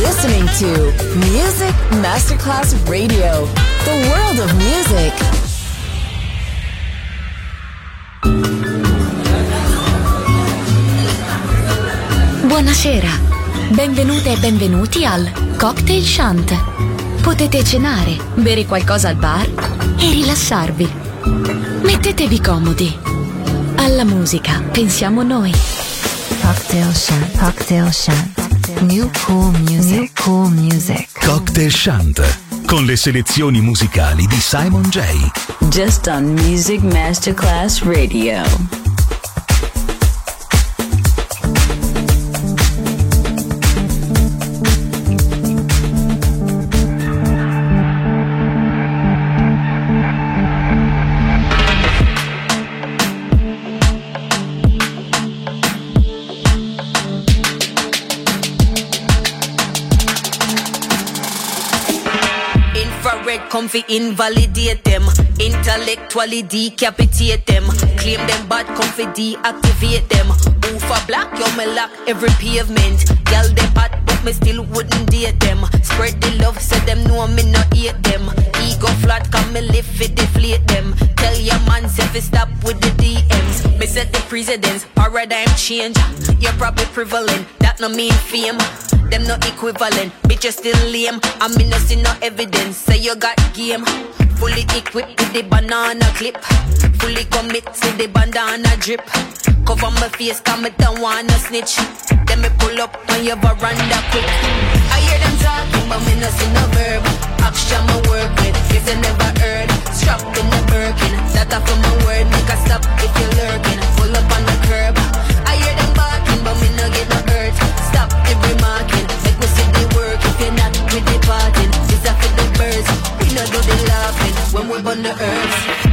listening to Music Masterclass Radio, the world of music. Buonasera, benvenute e benvenuti al Cocktail Shant. Potete cenare, bere qualcosa al bar e rilassarvi. Mettetevi comodi. Alla musica pensiamo noi. Cocktail Shant, Cocktail Shant. New cool music, new cool music. Cocktail Shant, con le selezioni musicali di Simon J. Just on Music Masterclass Radio. Comfy invalidate them, intellectually decapitate them, claim them bad, comfy deactivate them. Oofa black, yo me lock every pavement. Girl they hot, but me still wouldn't date them. Spread the love, say them know me not hate them. Ego flat, come me live it, deflate them. Tell your man, say fi stop with the DMs. Me set the precedence, paradigm change. You're probably prevalent, that no mean fame. Them no equivalent, bitch you still lame. I mean no see no evidence, say you got game. Fully equipped with the banana clip, fully commit to the bandana drip. Cover my face, come it don't wanna snitch. Then me pull up on your veranda quick. I hear them talking, but me no see no verb. Action my work with, cause I never heard. Strapped in the Birkin, that off of my word. Make a stop if you're lurking, pull up on the curb. I hear them barking, but me no get no hurt. Stop every marking, make me see the work. If you're not with the parting, this are for the birds. We no do the laughing when we're on the earth.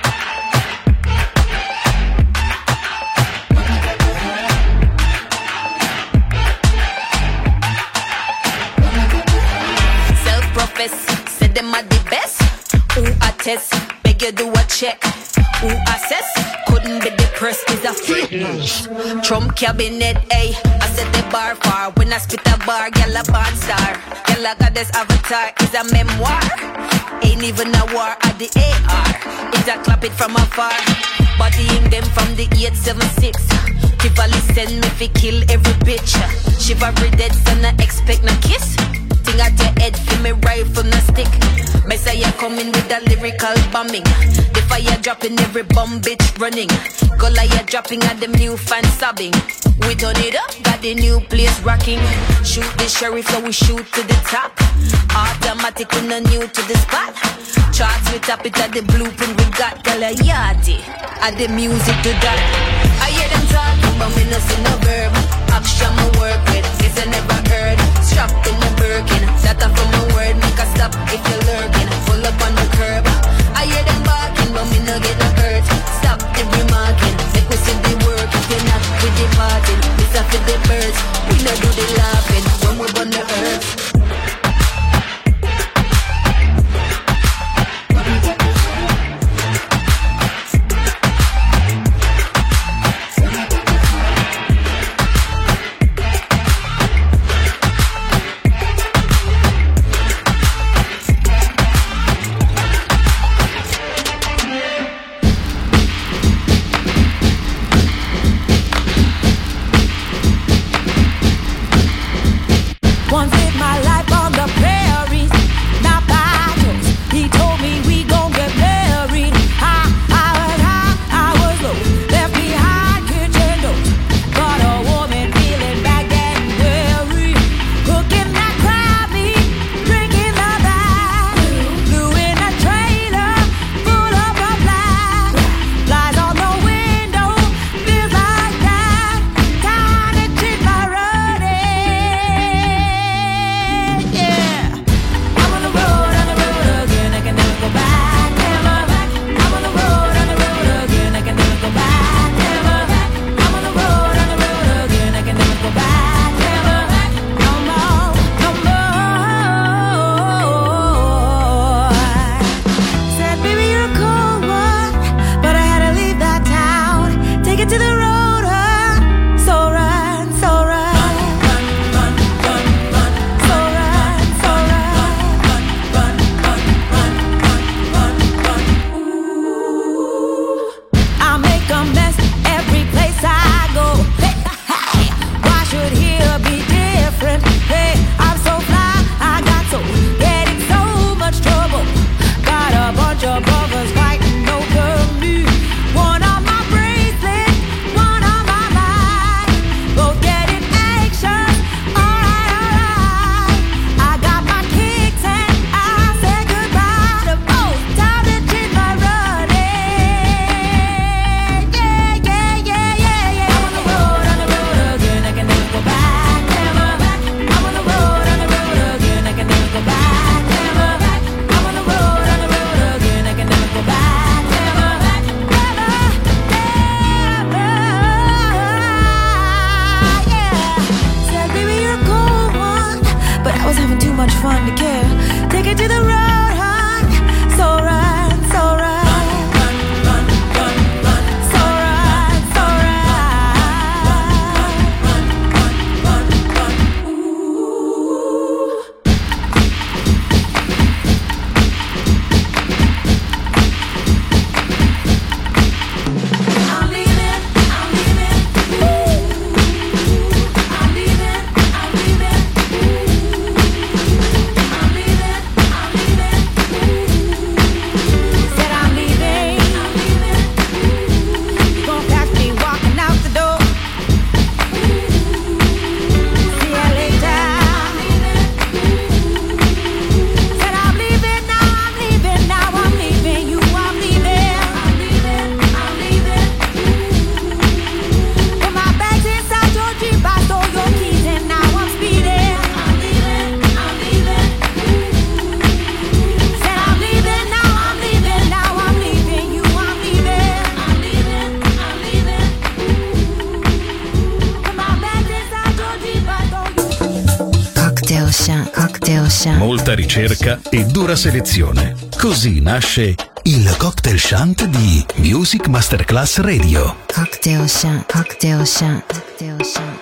Say them are the best. Who attest? Beg you do a check. Who assess? Couldn't be the press is a fitness. Trump cabinet, ay. I set the bar far. When I spit a bar, gyal a band star. Gyal a goddess avatar is a memoir. Ain't even a war at the AR. It's a clap it from afar. Bodying them from the 876. Tivoli send me fi kill every bitch. Chivalry dead, so I expect no kiss. Thing at your head, feel me rifle no stick. Messiah coming with a lyrical bombing. The fire dropping, every bomb bitch running. Goliath dropping at them new fans sobbing. We done it up, got the new place rocking. Shoot the sheriff, so we shoot to the top. Automatic, we no new to the spot. Charts, we tap it at the blueprint we got. Galayati, add the music to that. I hear them talking, but me no see no verb. Action my work with, this I never heard. Strapped in the Birkin, that off of my word. Make a stop if you're lurking, pull up on the curb. I hear them barking, but me no get no hurt. Stop every marking, make me see the work. If you're not with the party, this are for the birds. We no do the laughing when we're on the earth. One thing Cocktail Shant. Molta ricerca e dura selezione. Così nasce il Cocktail Shant di Music Masterclass Radio. Cocktail Shant, Cocktail Shant, Cocktail Shant.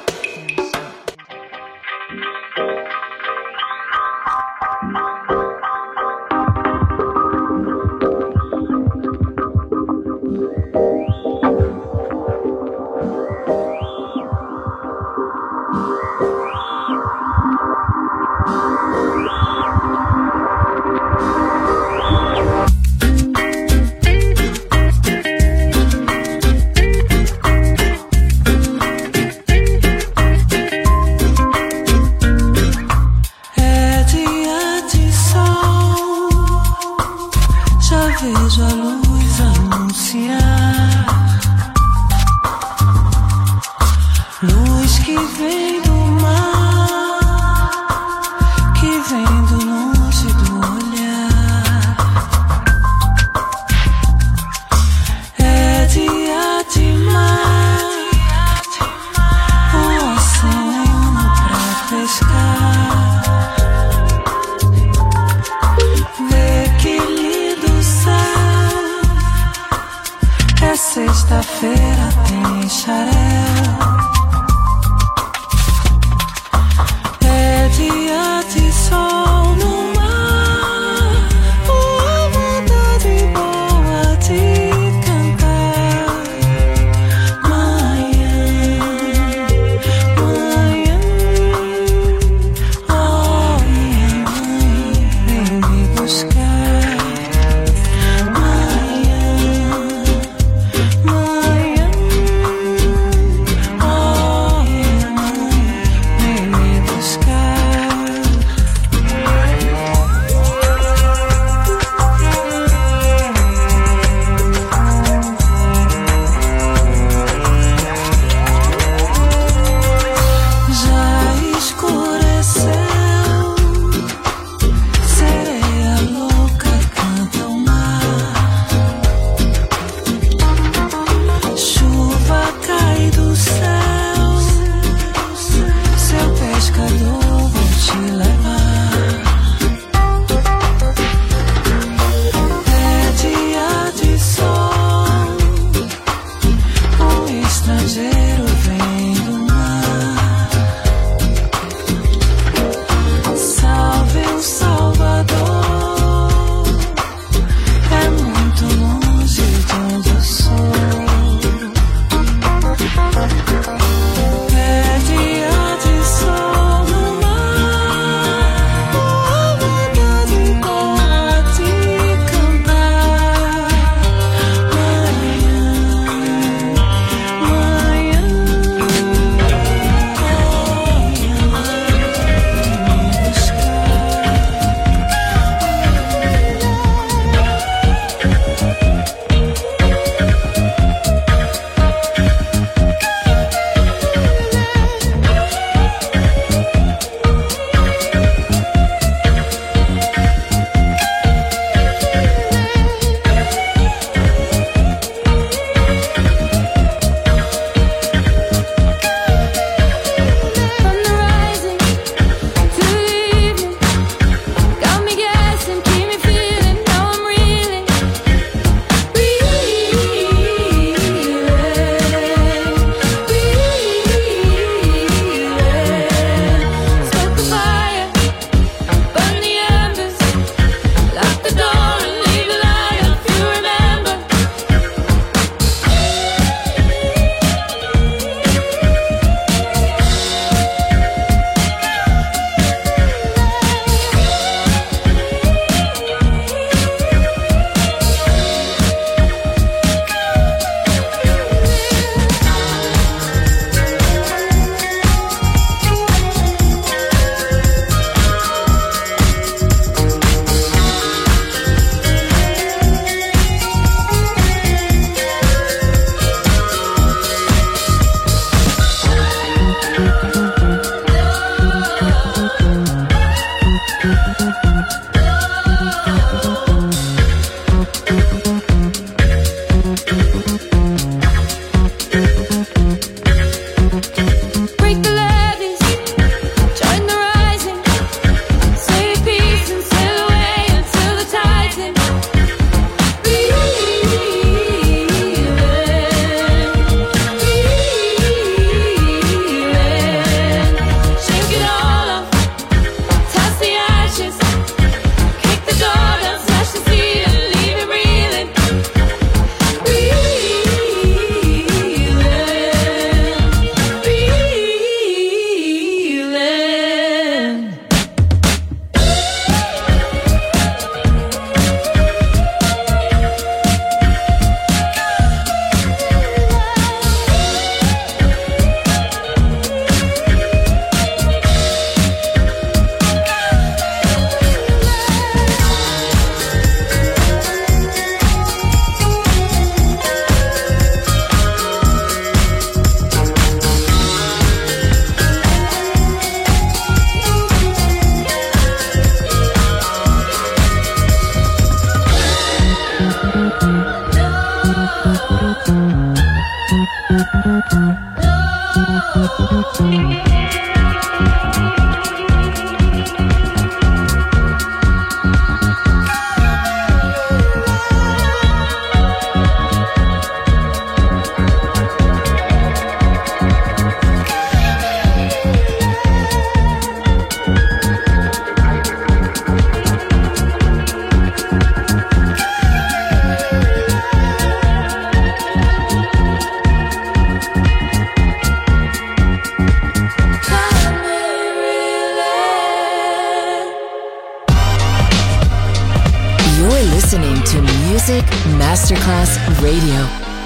listening to Music Masterclass Radio.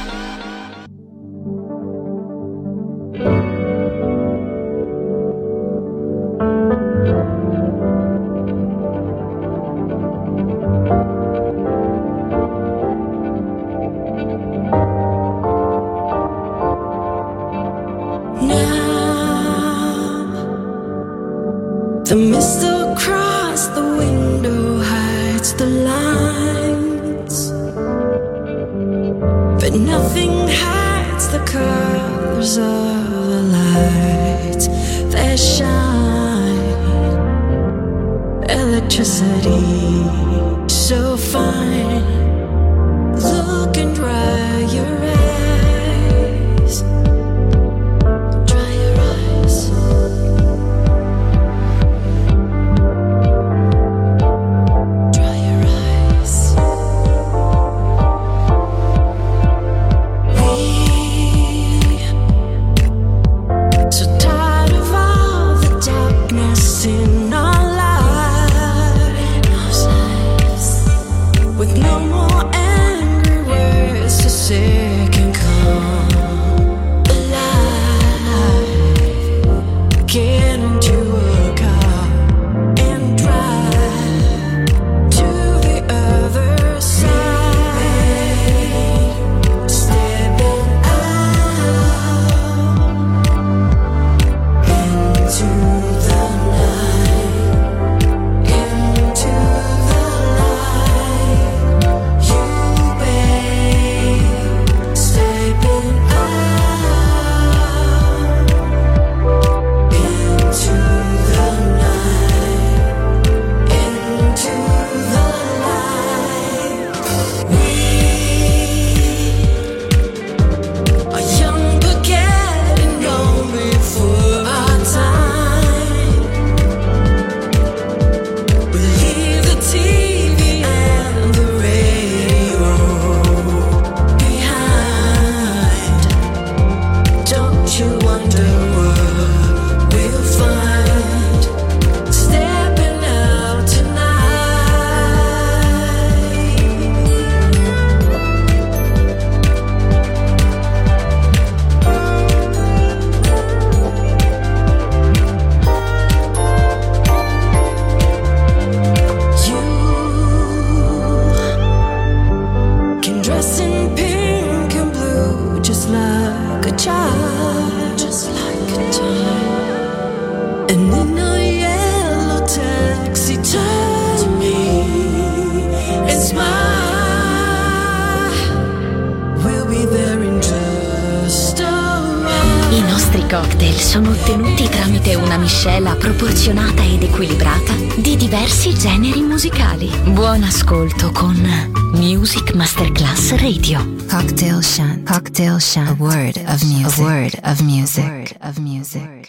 The mist across the window hides the lines, but nothing hides the colors of the lights that shine. Electricity so fine. Look and dry your eyes. Dry your eyes. Sono ottenuti tramite una miscela proporzionata ed equilibrata di diversi generi musicali. Buon ascolto con Music Masterclass Radio. Cocktail Shant. Cocktail Shant. A word of music. A word of music. A word of music.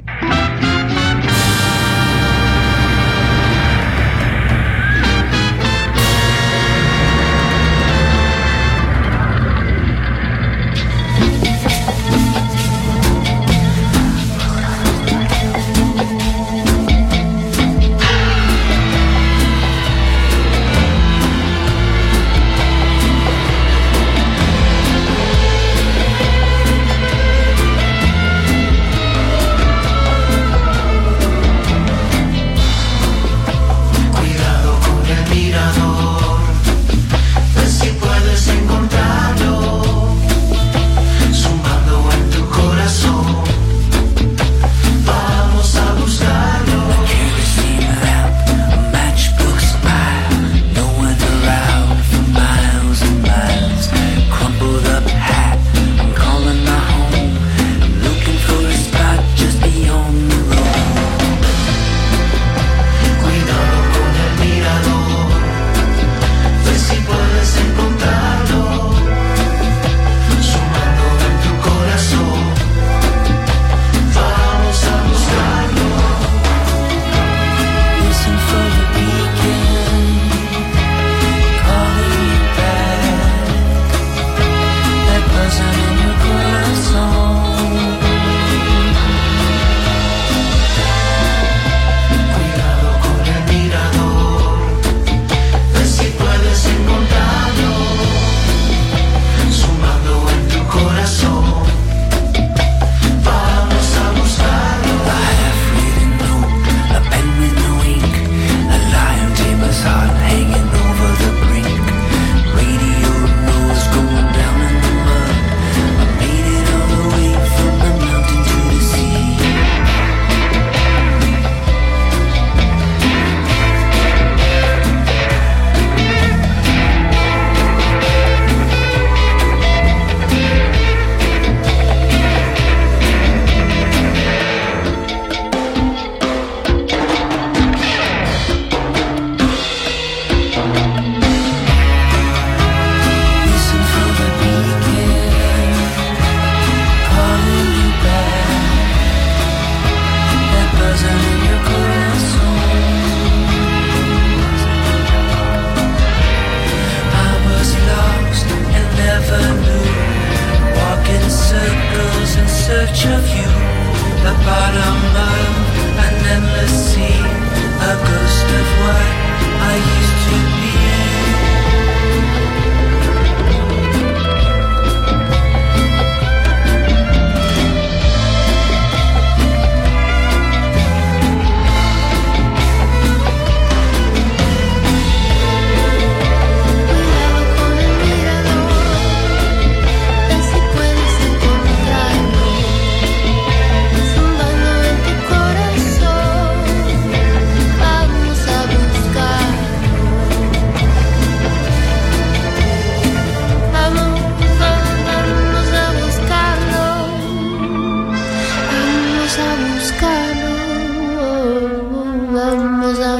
vamos a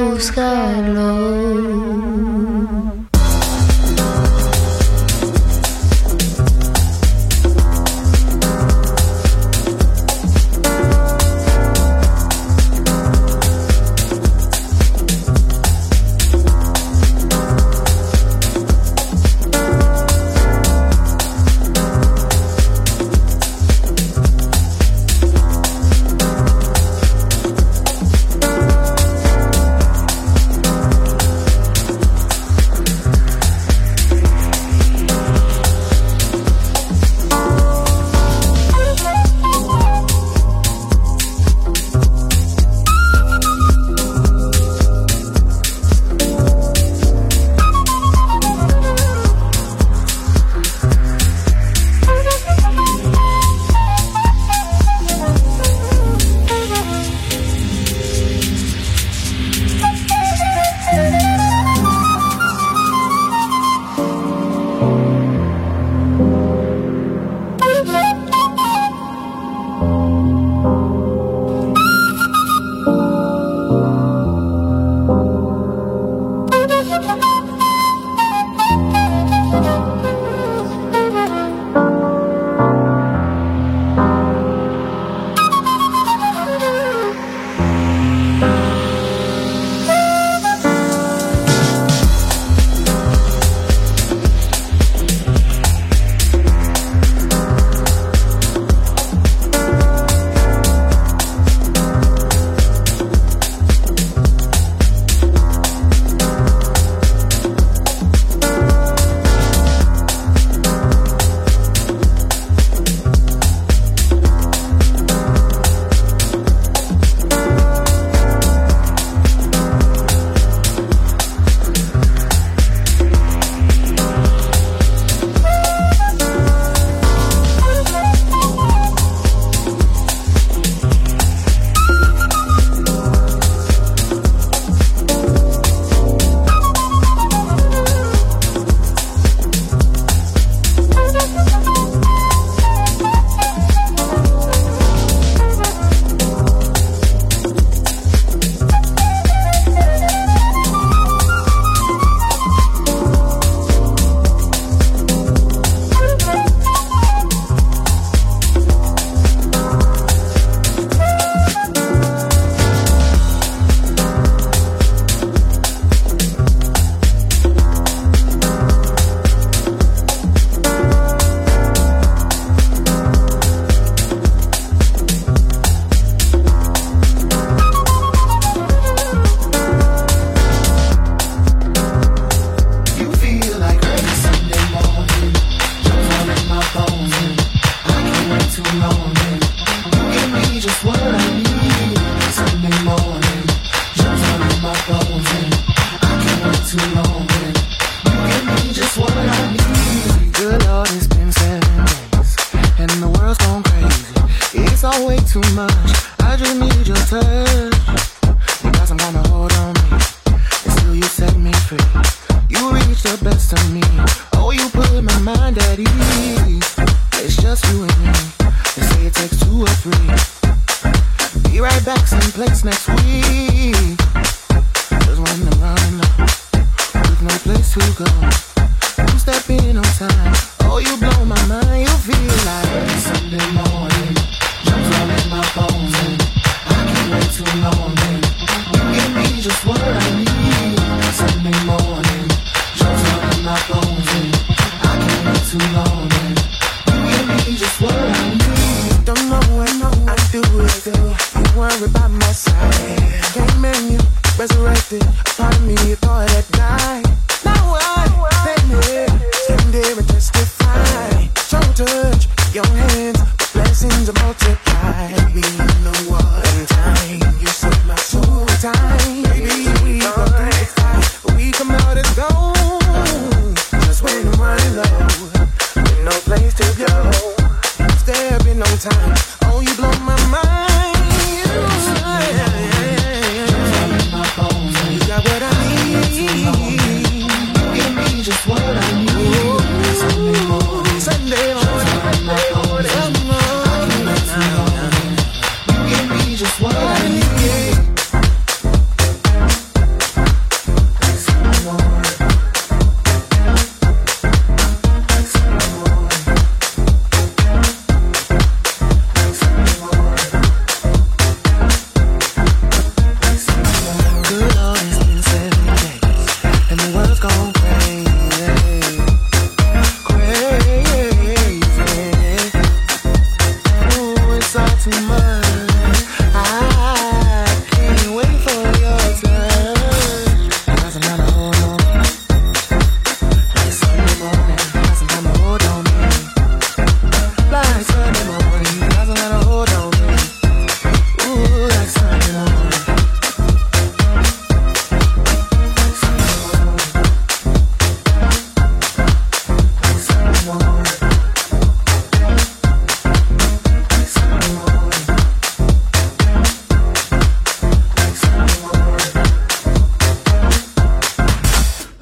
buscarlo. What I need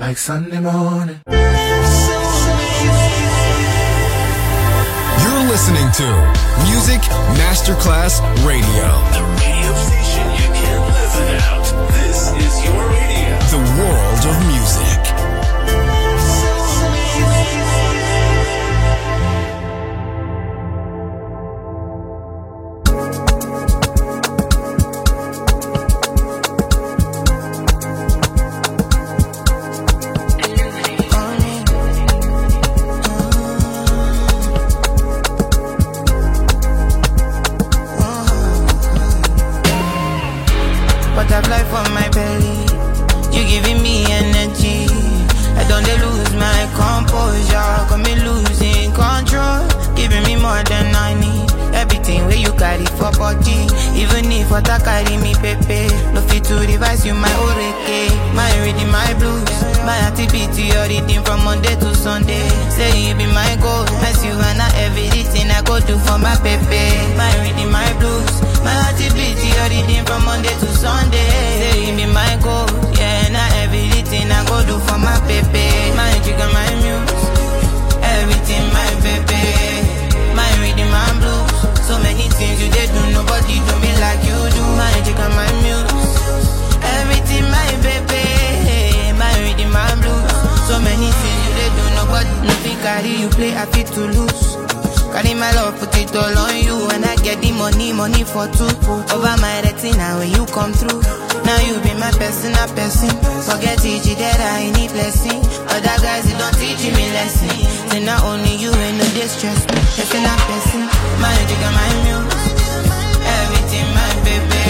like Sunday morning. You're listening to Music Masterclass Radio. The radio station you can't live without. This is your radio. The world of music. Butterfly for my belly, you giving me energy. I don't dey lose my composure, got me losing control. Giving me more than I need. Everything where you carry for body, even if what I carry me pepe. No fit to revise you my oreke, my reading my blues, my activity your reading from Monday to Sunday. Say you be my goal, as you and everything I go do for my pepe. My reading my blues, my activity your reading from Monday to Sunday. Say you be my goal, yeah, and everything I go do for my pepe. My jigger, my muse, everything my pepe. My reading my blues, so many things you did do, nobody do me like you do. My jigger, my muse, everything my pepe. My reading my blues, so many things you did do, nobody. Nothing carry you play, I fit to lose. Carry my love, put it all on you. And I get the money for two. Over my retina when you come through. Now you be my personal person. Forget it, that I need blessing. Other guys, they don't teach me lesson. Say not only you ain't no distress. Person a person. My jigger, my muse, everything my baby.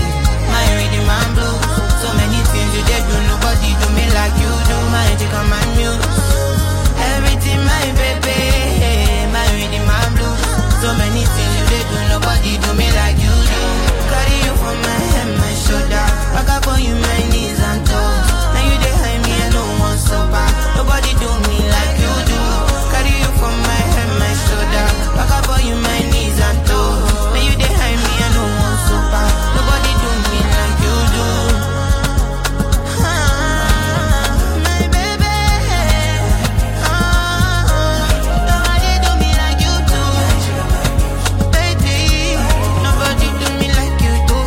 My reading, my blue. So many things you did do, nobody do me like you do. My jigger, my muse, everything my baby. My reading, my blue. So many things you did do, nobody do me like you do. Carry you from my head, my shoulder. Back up on you, my knees and toes. Now you behind me, I don't want so bad. Nobody do me like you do. Carry you from my head, my shoulder. Back up on you, my knees and toes. Now you behind me, I don't want so bad. Nobody do me like you do. My baby. Nobody do me like you do. Baby, nobody do me like you do.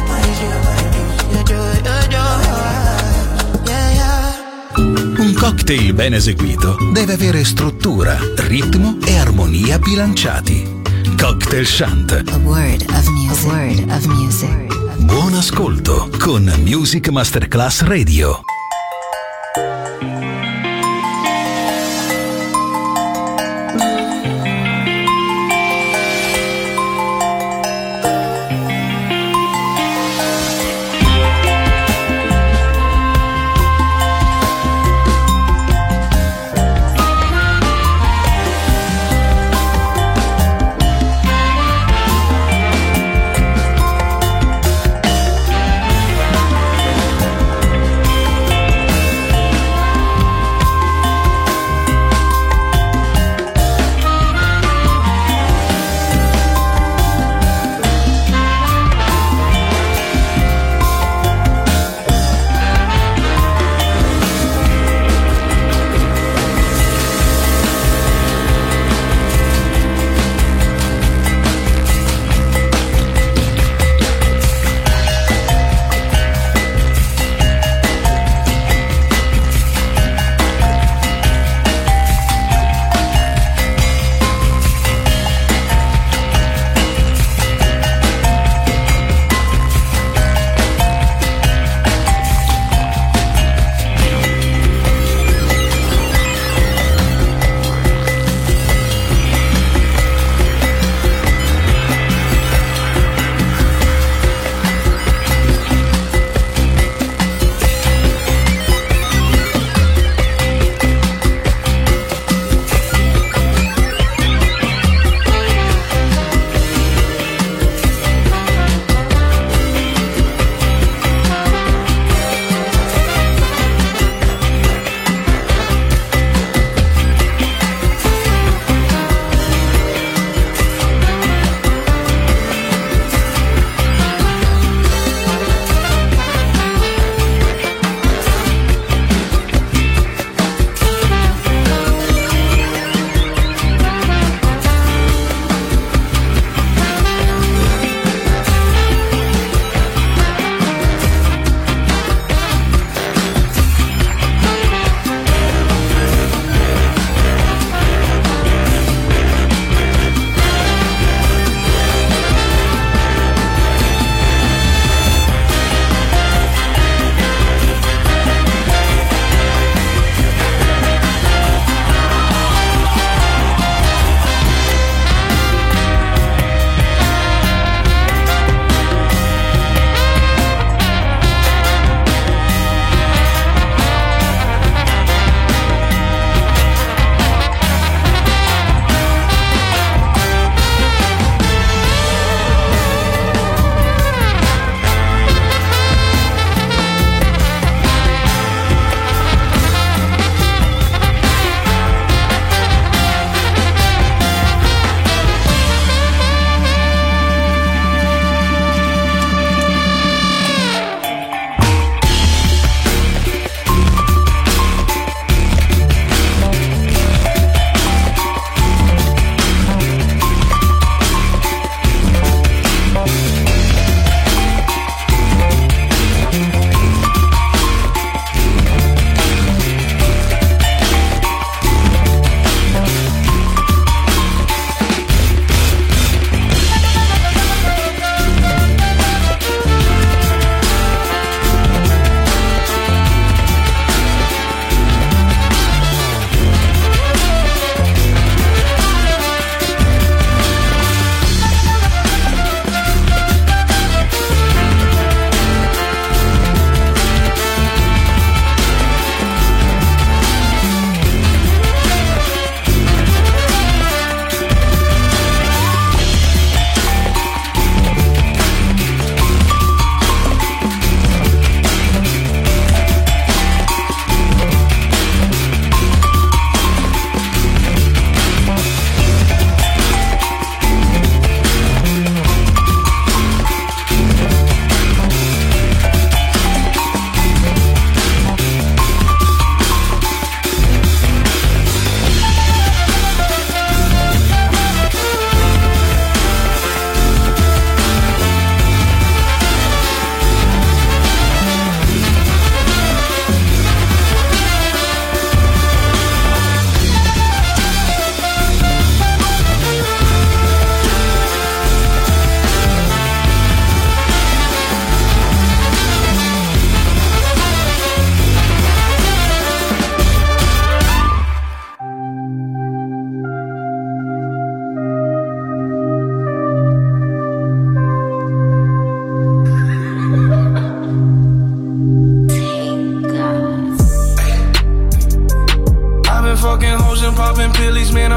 Un cocktail ben eseguito deve avere struttura, ritmo e armonia bilanciati. Cocktail Shant. A word of music. A word of music. Buon ascolto con Music Masterclass Radio.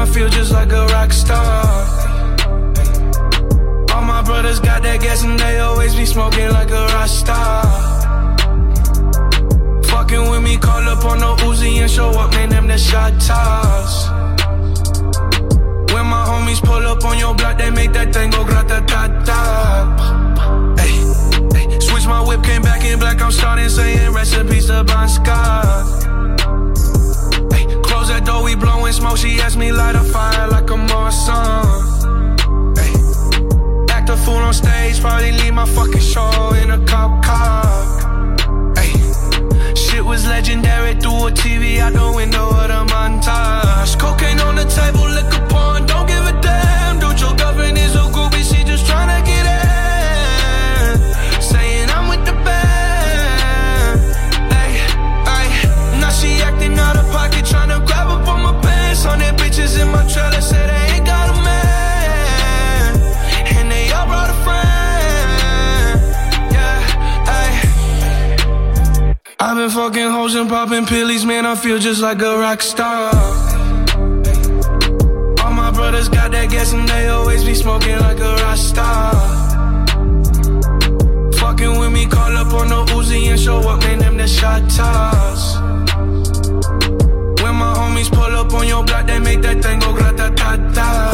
I feel just like a rock star. All my brothers got that gas and they always be smoking like a rock star. Fucking with me, call up on the Uzi and show up, man, them the shot toss. When my homies pull up on your block, they make that thing go grata-ta-ta. Hey, hey, switch my whip, came back in black, I'm starting saying recipes to Bon Scott. Hey, close that door, we blowing smoke, she asked me light a fire like a Marsan. Hey, act a fool on stage, probably leave my fucking show in a cop car. Hey, shit was legendary, through a TV out the window of the montage. Cocaine on the table, liquor porn, don't give a damn. Dude, your girlfriend is a groupie, she just tryna get in. Saying I'm with the band. Ay, ay, now she acting out of pocket, tryna grab up on my pants. 100 bitches in my trailer, say they ain't got a man. And they all brought a friend. Yeah, ay. I've been fucking hoes and popping pillies, man, I feel just like a rock star. All my brothers got that gas and they always be smoking like a rock star. Fucking with me, call up on the Uzi and show up, man, them the shot toss. When my homies pull up on your block, they make that thing go grata-ta-ta.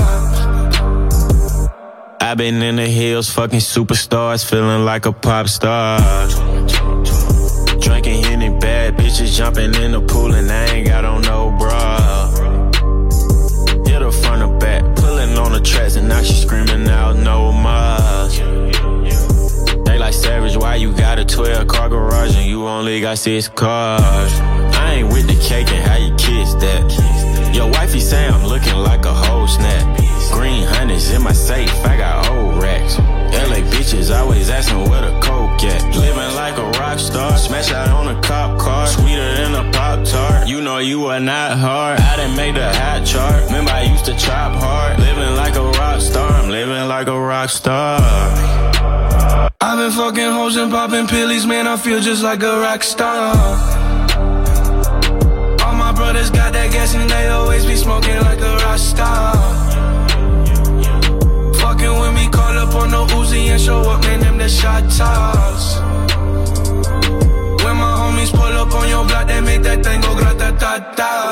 I've been in the hills, fucking superstars, feeling like a pop star. Drinking Henny, bad bitches jumping in the pool and I ain't got on no bra. Hit her front or back, pulling on the tracks and now she screaming out no more. They like Savage, why you got a 12-car garage and you only got 6 cars? I ain't with the cake and how you kiss that. Your wifey say I'm looking like a whole snap. Green honey's in my safe, I got old racks. LA bitches always asking where the coke at. Living like a rock star, smash out on a cop car. Sweeter than a Pop-Tart, you know you are not hard. I done made the hot chart, remember I used to chop hard. Living like a rock star, I'm living like a rock star. I've been fucking hoes and popping pillies, man, I feel just like a rock star. All my brothers got that gas and they always be smoking like a rock star. Fucking with me, call up on the Uzi and show up, man, them the shot toss. When my homies pull up on your block, they make that thing go grata-ta-ta.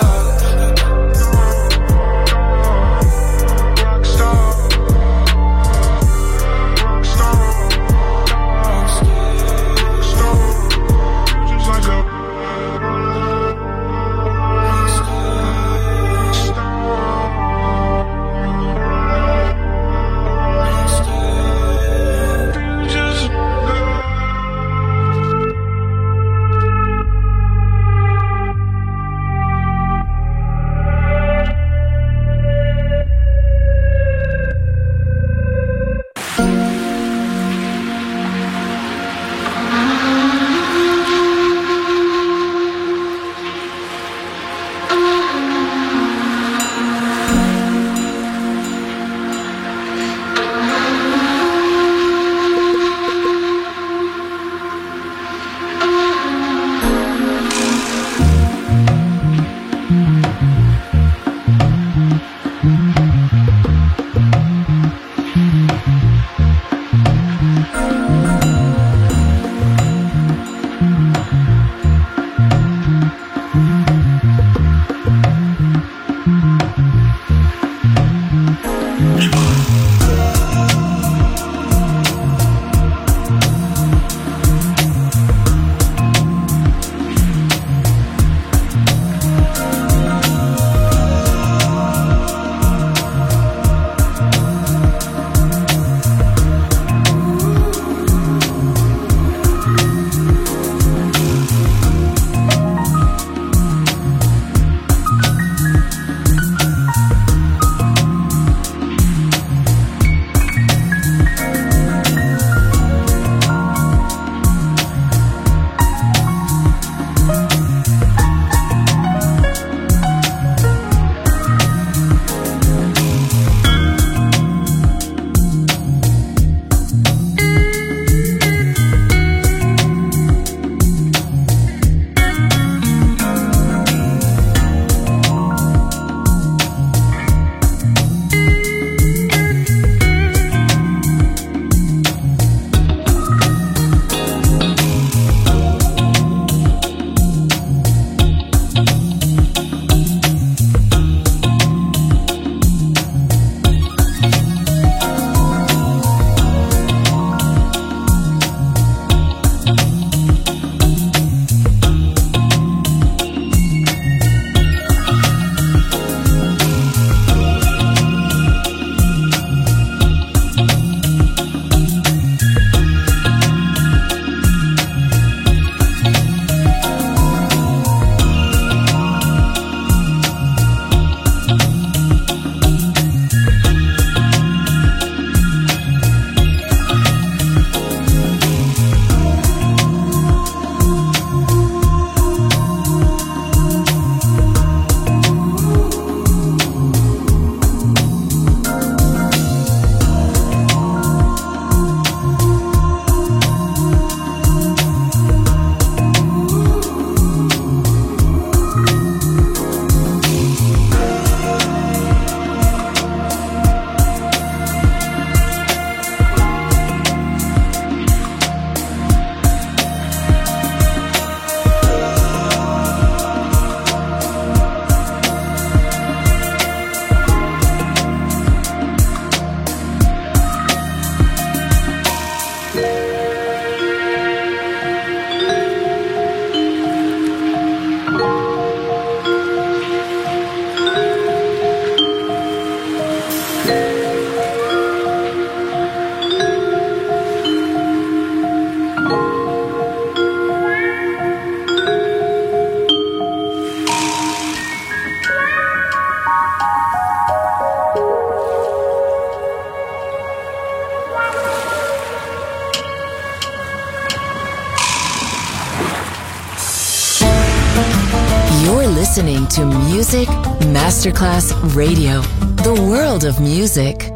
listening to Music Masterclass Radio, the world of music.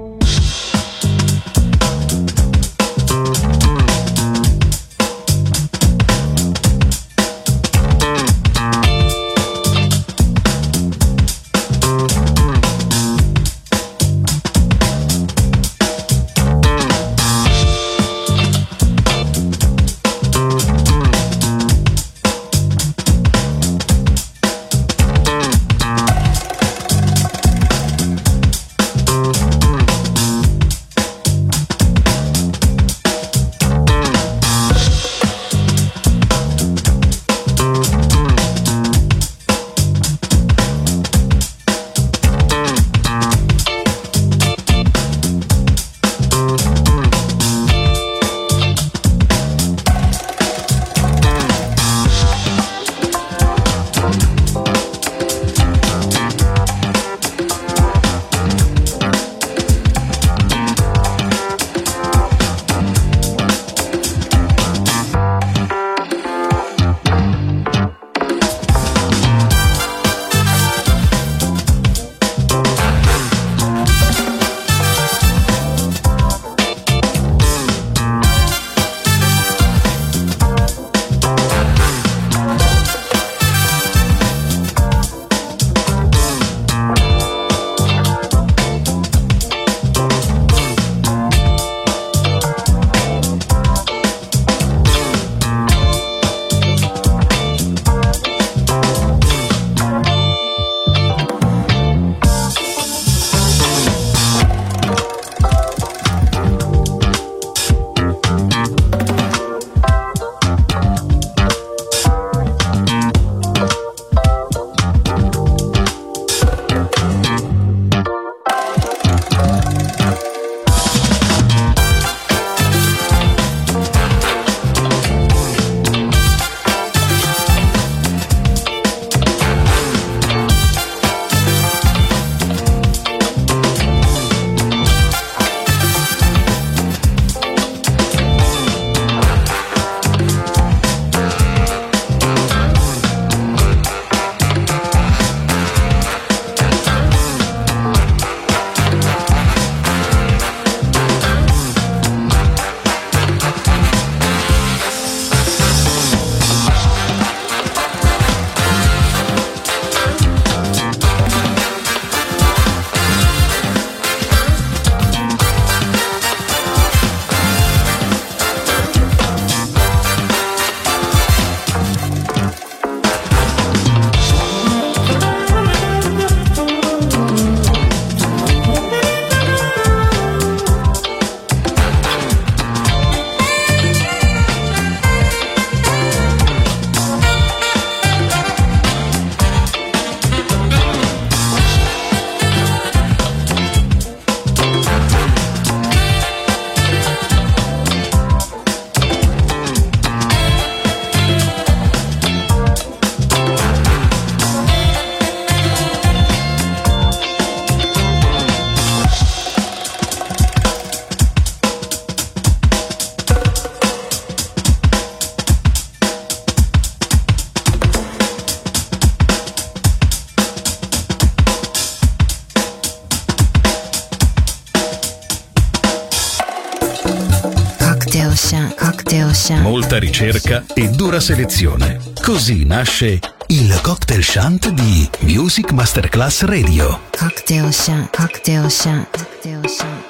Molta ricerca e dura selezione. Così nasce il Cocktail Shant di Music Masterclass Radio. Cocktail Shant, Cocktail Shant, Cocktail Shant.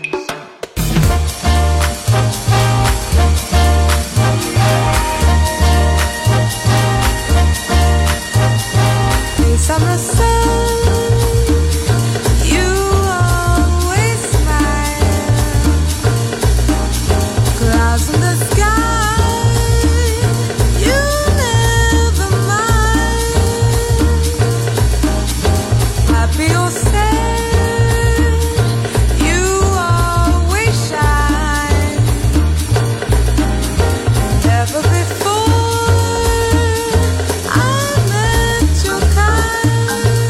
Summer sun, you always smile. Clouds in the sky, you never mind. Happy or sad, you always shine. Never before I met your kind.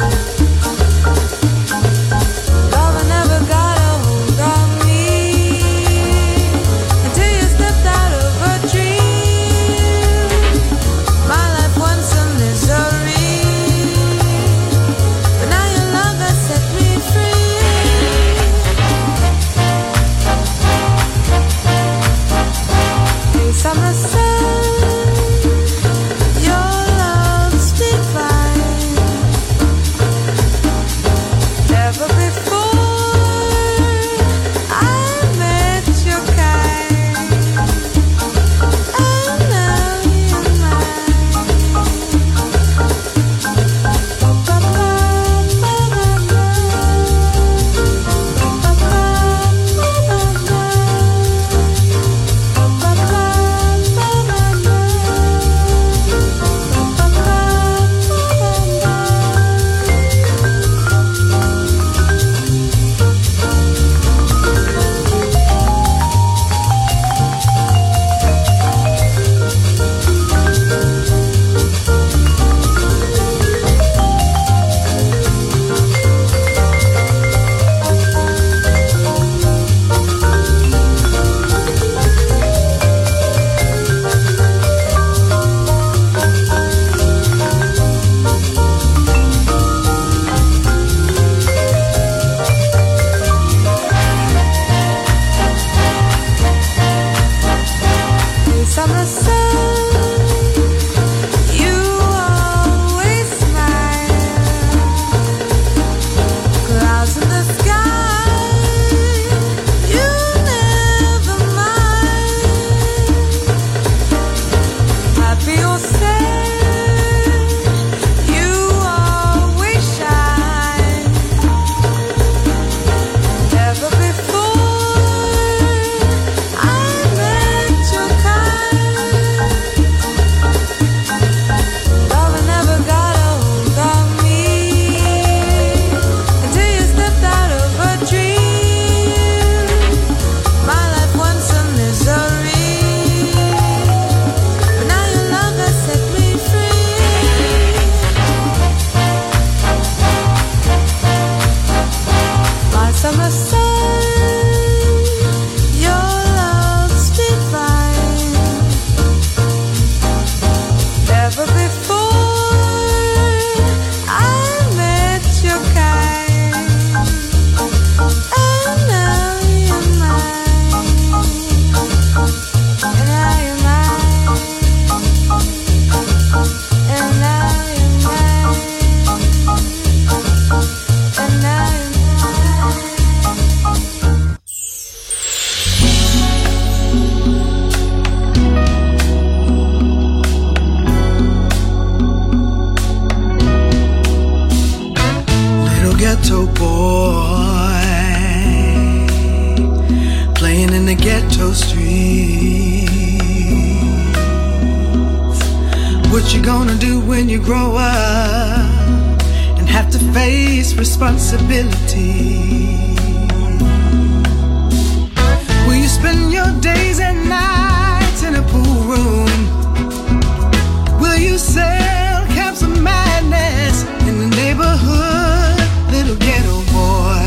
do when you grow up and have to face responsibility? Will you spend your days and nights in a pool room? Will you sell caps of madness in the neighborhood, little ghetto boy?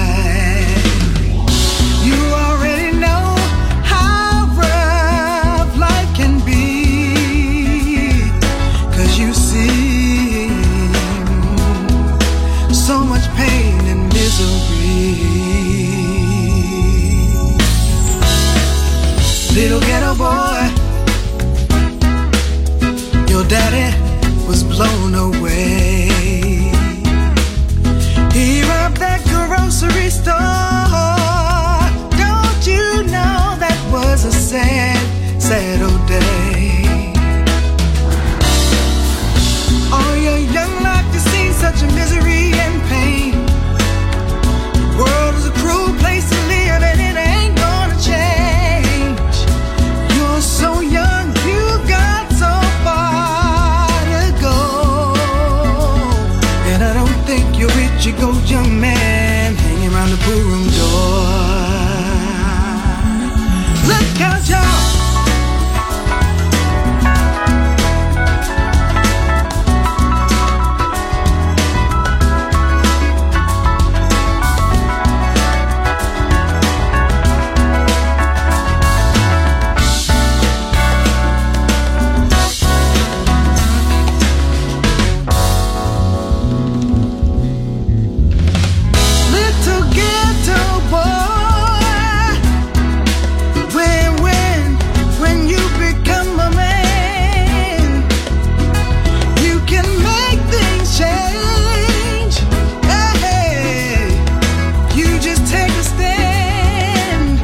You already know how rough life can be, 'cause you see so much pain and misery. Little ghetto boy, your daddy was blown away. He robbed that grocery store. Don't you know that was a sad, sad old day? All your young life you've seen such a misery and pain. The world is a cruel place to live and it ain't gonna change. You're so young, you got so far to go. And I don't think you're rich, you go young man hanging around the pool room door. Look out, y'all. Little ghetto boy, when you become a man, you can make things change. Hey, you just take a stand.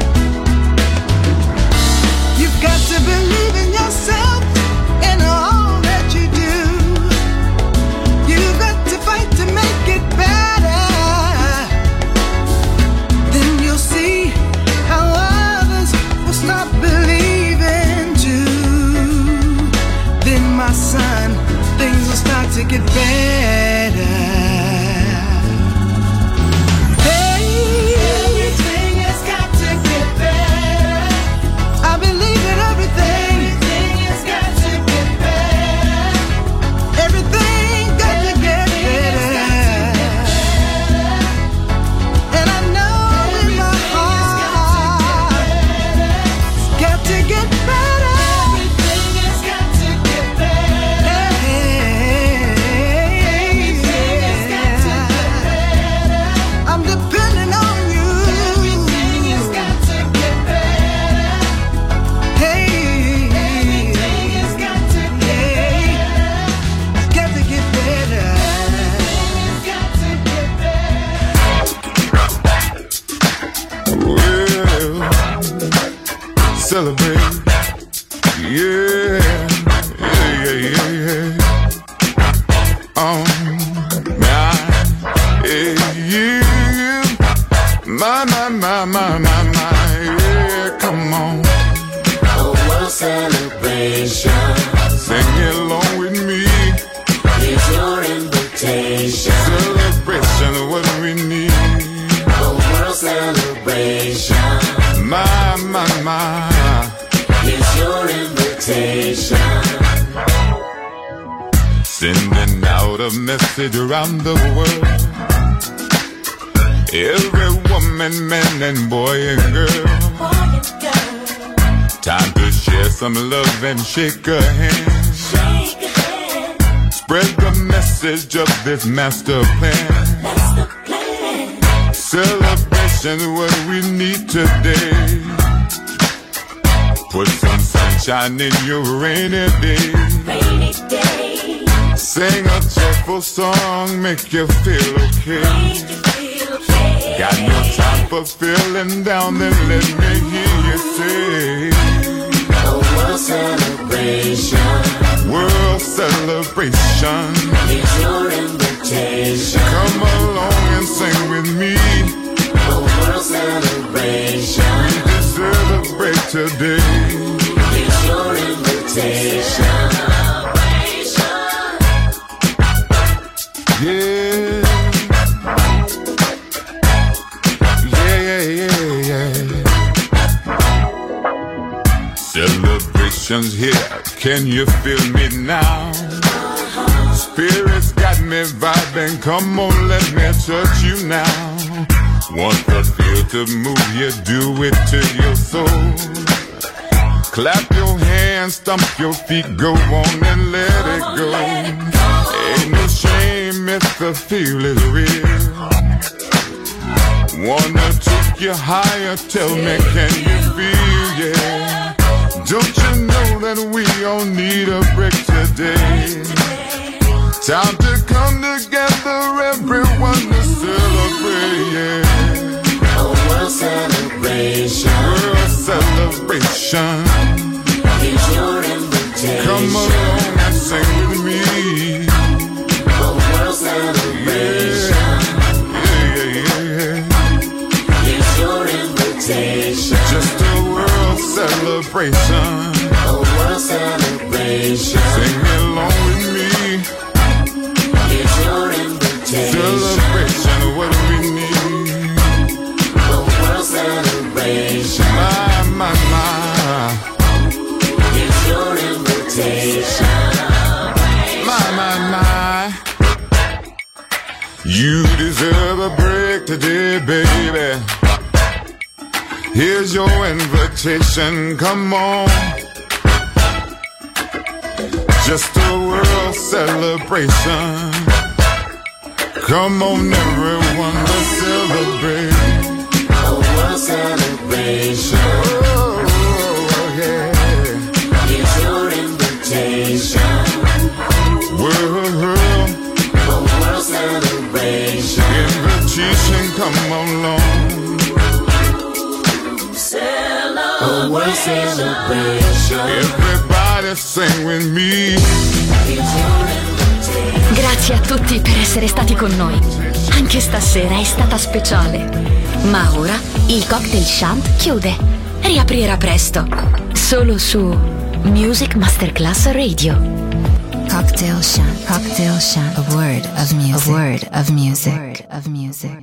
You've got to believe in yourself and all that you do. You've got to fight to make it better. Then you'll see how others will stop believing too. Then, my son, things will start to get better. Hey, everything has got to get better. I believe in everything. Everything has got to get better. Everything got to get better. And I know in my heart it's got to get better. Everything has got to get better. Everything has got to get better. I'm depending on you. Everything has got to get better. Hey, everything has got to get better. It's got to get better. It's got to get Well, celebrate. Yeah, yeah, yeah, yeah, yeah. Yeah. My, yeah, come on. A world celebration Sing along with me. is your invitation. Celebration of what we need. A world celebration My. is your invitation. Sending out a message around the world. Every woman, man, and boy and girl. Time to share some love and shake a hand. Spread the message of this master plan. Celebration is what we need today. Put some sunshine in your rainy day. Sing a cheerful song, make you feel okay. Got no time for feeling down, then let me hear you say. A world celebration. World celebration is your invitation. Come along and sing with me. A world celebration. We just celebrate today. It's your invitation. Yeah. Celebrations here, can you feel me now? Spirit's got me vibing, come on, let me touch you now. Want the feel to move you, do it to your soul. Clap your hands, stomp your feet, go on and let it go. Ain't no shame if the feel is real. Wanna take you higher, tell me, can you feel, yeah? Don't you know that we all need a break today? Time to come together, everyone to celebrate, yeah. A world celebration. World celebration. Here's your invitation. Come along and sing with me. A world celebration. Yeah. Here's your invitation. Just a world celebration. A world celebration. Sing along with me. Here's your invitation. Celebration, what we need. A world celebration. My. Here's your invitation. My. You deserve a break today, baby. Here's your invitation, come on. Just a world celebration. Come on, everyone, let's celebrate. A world celebration. Oh, yeah. Here's your invitation. World. A world celebration. Invitation, come along. A world celebration. Everybody sing with me. Grazie a tutti per essere stati con noi. Anche stasera è stata speciale. Ma ora il Cocktail Shant chiude. Riaprirà presto. Solo su Music Masterclass Radio. Cocktail Shant. Cocktail Shant. A word of music. A word of music.